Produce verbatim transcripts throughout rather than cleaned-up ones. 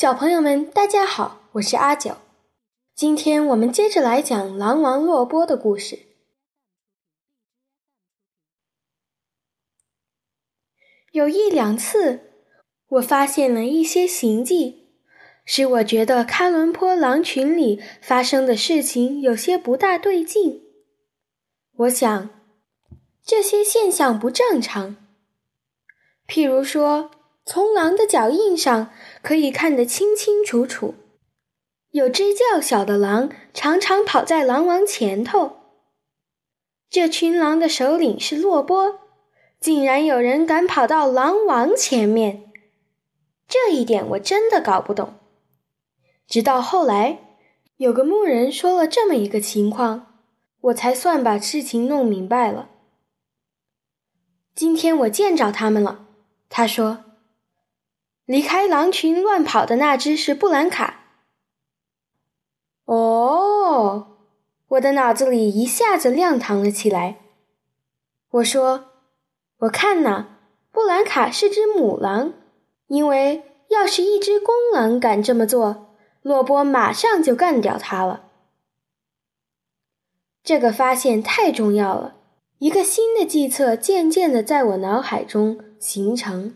小朋友们，大家好，我是阿九。今天我们接着来讲狼王洛波的故事。有一两次，我发现了一些行迹，使我觉得喀伦坡狼群里发生的事情有些不大对劲。我想，这些现象不正常。譬如说，从狼的脚印上可以看得清清楚楚，有只较小的狼常常跑在狼王前头。这群狼的首领是洛波，竟然有人敢跑到狼王前面，这一点我真的搞不懂。直到后来，有个牧人说了这么一个情况，我才算把事情弄明白了。今天我见着他们了，他说，离开狼群乱跑的那只是布兰卡。哦，我的脑子里一下子亮堂了起来。我说，我看呐，布兰卡是只母狼，因为要是一只公狼敢这么做，洛波马上就干掉它了。这个发现太重要了，一个新的计策渐渐地在我脑海中形成。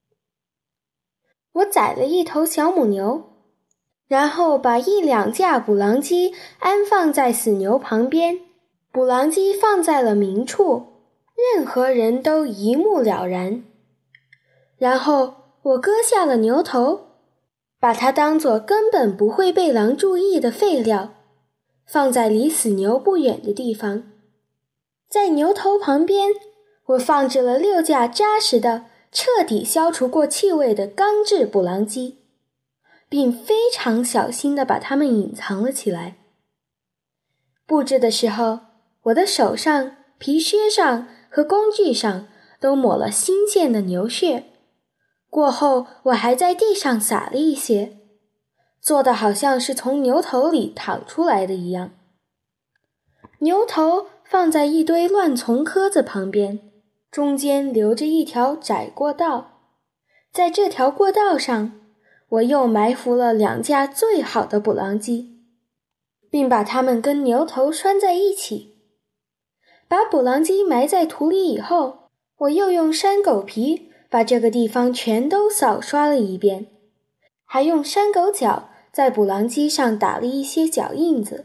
我宰了一头小母牛，然后把一两架捕狼机安放在死牛旁边，捕狼机放在了明处，任何人都一目了然。然后我割下了牛头，把它当作根本不会被狼注意的废料，放在离死牛不远的地方。在牛头旁边，我放置了六架扎实的彻底消除过气味的钢制捕狼机，并非常小心地把它们隐藏了起来。布置的时候，我的手上、皮靴上和工具上都抹了新鲜的牛血，过后我还在地上撒了一些，做得好像是从牛头里淌出来的一样。牛头放在一堆乱丛棵子旁边，中间留着一条窄过道，在这条过道上，我又埋伏了两架最好的捕狼机，并把它们跟牛头拴在一起。把捕狼机埋在土里以后，我又用山狗皮把这个地方全都扫刷了一遍，还用山狗脚在捕狼机上打了一些脚印子。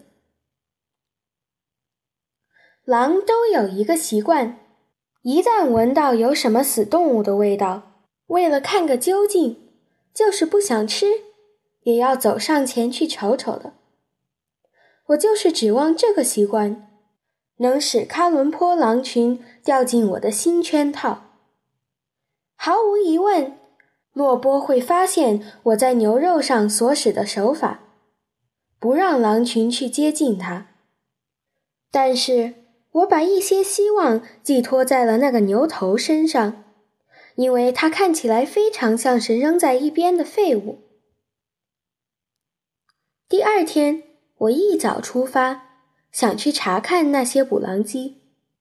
狼都有一个习惯，一旦闻到有什么死动物的味道，为了看个究竟，就是不想吃，也要走上前去瞅瞅的。我就是指望这个习惯，能使喀伦坡狼群掉进我的新圈套。毫无疑问，洛波会发现我在牛肉上所使的手法，不让狼群去接近它。但是我把一些希望寄托在了那个牛头身上，因为它看起来非常像是扔在一边的废物。第二天，我一早出发，想去查看那些捕狼机。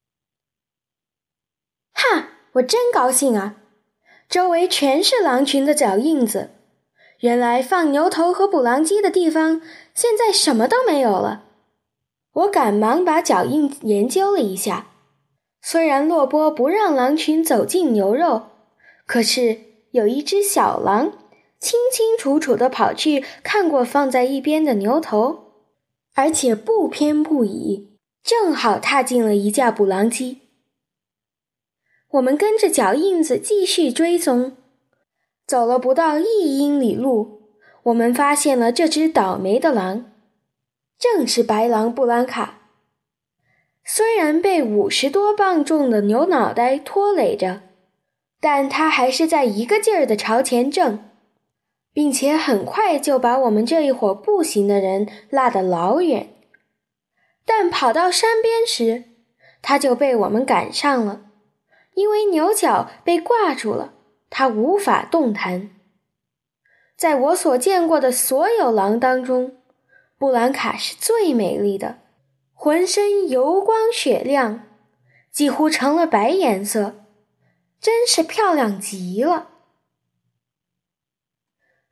哈，我真高兴啊！周围全是狼群的脚印子，原来放牛头和捕狼机的地方现在什么都没有了。我赶忙把脚印研究了一下，虽然洛波不让狼群走进牛肉，可是有一只小狼清清楚楚地跑去看过放在一边的牛头，而且不偏不倚，正好踏进了一架捕狼机。我们跟着脚印子继续追踪，走了不到一英里路，我们发现了这只倒霉的狼，正是白狼布兰卡。虽然被五十多磅重的牛脑袋拖累着，但它还是在一个劲儿地朝前挣，并且很快就把我们这一伙步行的人拉得老远。但跑到山边时，它就被我们赶上了，因为牛角被挂住了，它无法动弹。在我所见过的所有狼当中，布兰卡是最美丽的，浑身油光雪亮，几乎成了白颜色，真是漂亮极了。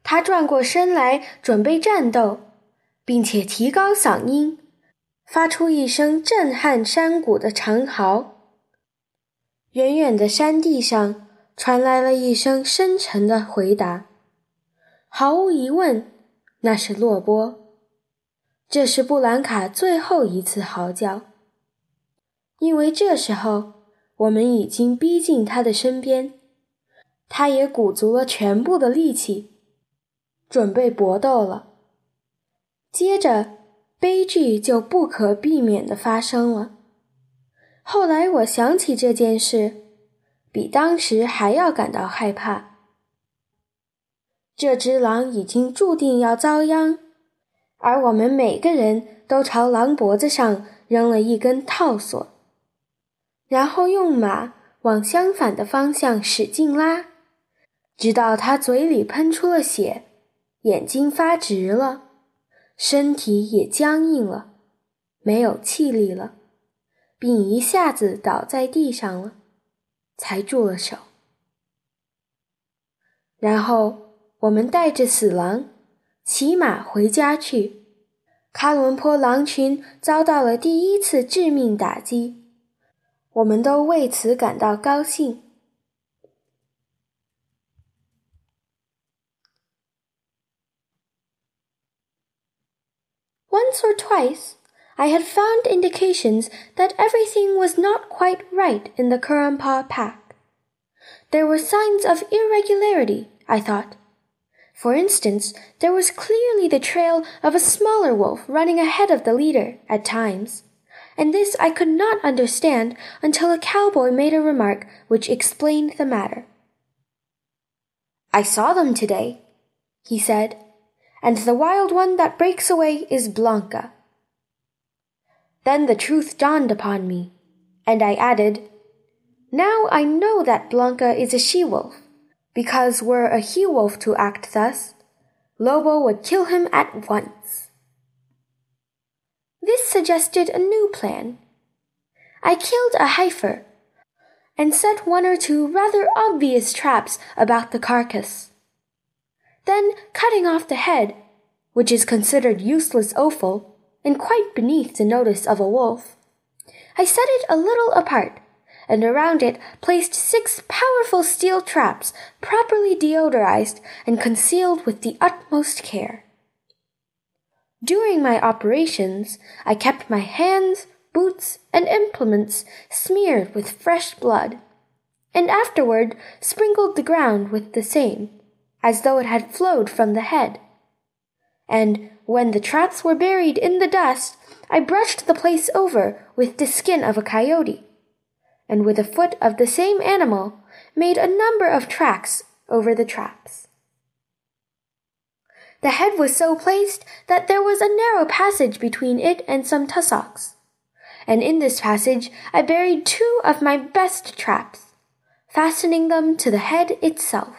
他转过身来准备战斗，并且提高嗓音，发出一声震撼山谷的长嚎。远远的山地上传来了一声深沉的回答，毫无疑问，那是洛波。这是布兰卡最后一次嚎叫，因为这时候我们已经逼近他的身边，他也鼓足了全部的力气，准备搏斗了。接着，悲剧就不可避免地发生了。后来我想起这件事，比当时还要感到害怕。这只狼已经注定要遭殃，而我们每个人都朝狼脖子上扔了一根套索，然后用马往相反的方向使劲拉，直到它嘴里喷出了血，眼睛发直了，身体也僵硬了，没有气力了，并一下子倒在地上了，才住了手。然后我们带着死狼骑马回家去。喀伦坡狼群遭到了第一次致命打击，我们都为此感到高兴。Once or twice, I had found indications that everything was not quite right in the Kurrampa pack. There were signs of irregularity, I thought. For instance, there was clearly the trail of a smaller wolf running ahead of the leader at times, and this I could not understand until a cowboy made a remark which explained the matter. "I saw them today," he said, "and the wild one that breaks away is Blanca." Then the truth dawned upon me, and I added, "Now I know that Blanca is a she-wolf, because were a he-wolf to act thus, Lobo would kill him at once." This suggested a new plan. I killed a heifer, and set one or two rather obvious traps about the carcass. Then, cutting off the head, which is considered useless offal, and quite beneath the notice of a wolf, I set it a little apart, and around it placed six powerful steel traps properly deodorized and concealed with the utmost care. During my operations, I kept my hands, boots, and implements smeared with fresh blood, and afterward sprinkled the ground with the same, as though it had flowed from the head. And when the traps were buried in the dust, I brushed the place over with the skin of a coyote, and with the foot of the same animal, made a number of tracks over the traps. The head was so placed that there was a narrow passage between it and some tussocks, and in this passage I buried two of my best traps, fastening them to the head itself.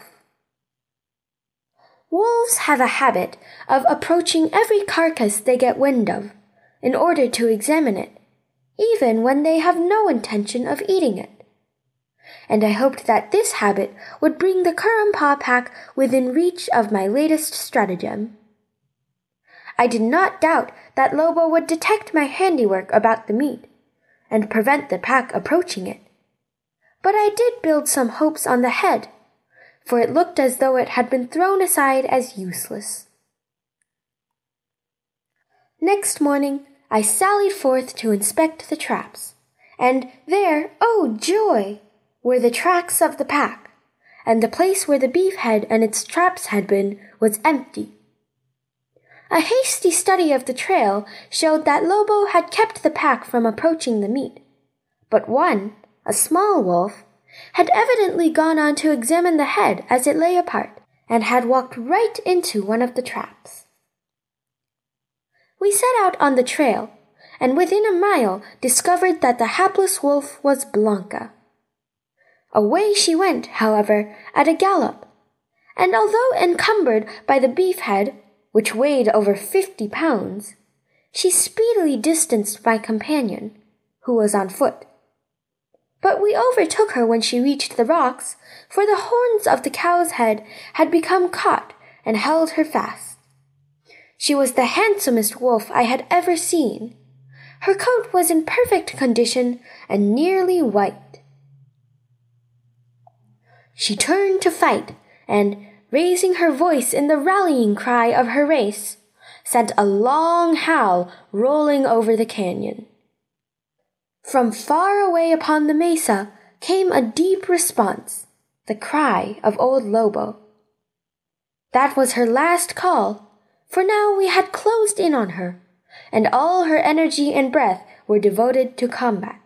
Wolves have a habit of approaching every carcass they get wind of, in order to examine it, even when they have no intention of eating it. And I hoped that this habit would bring the Kurrampa pack within reach of my latest stratagem. I did not doubt that Lobo would detect my handiwork about the meat, and prevent the pack approaching it. But I did build some hopes on the head, for it looked as though it had been thrown aside as useless. Next morning, I sallied forth to inspect the traps, and there, oh joy, were the tracks of the pack, and the place where the beef head and its traps had been was empty. A hasty study of the trail showed that Lobo had kept the pack from approaching the meat, but one, a small wolf, had evidently gone on to examine the head as it lay apart, and had walked right into one of the traps. We set out on the trail, and within a mile discovered that the hapless wolf was Blanca. Away she went, however, at a gallop, and although encumbered by the beef head, which weighed over fifty pounds, she speedily distanced my companion, who was on foot. But we overtook her when she reached the rocks, for the horns of the cow's head had become caught and held her fast. She was the handsomest wolf I had ever seen. Her coat was in perfect condition and nearly white. She turned to fight, and, raising her voice in the rallying cry of her race, sent a long howl rolling over the canyon. From far away upon the mesa came a deep response, the cry of old Lobo. That was her last call, for now we had closed in on her, and all her energy and breath were devoted to combat.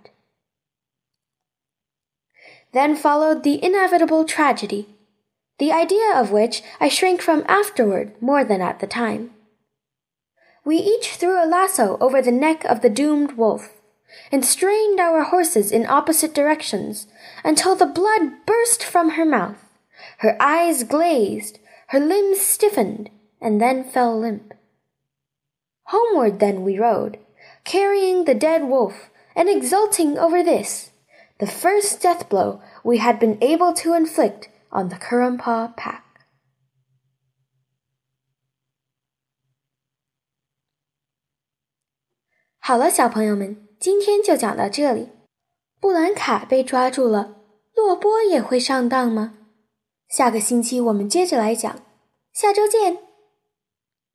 Then followed the inevitable tragedy, the idea of which I shrank from afterward more than at the time. We each threw a lasso over the neck of the doomed wolf, and strained our horses in opposite directions until the blood burst from her mouth, her eyes glazed, her limbs stiffened, and then fell limp. Homeward then we rode, carrying the dead wolf and exulting over this, the first death blow we had been able to inflict on the Currumpaw pack. 好了，小朋友们，今天就讲到这里。布兰卡被抓住了，洛波也会上当吗？下个星期我们接着来讲，下周见。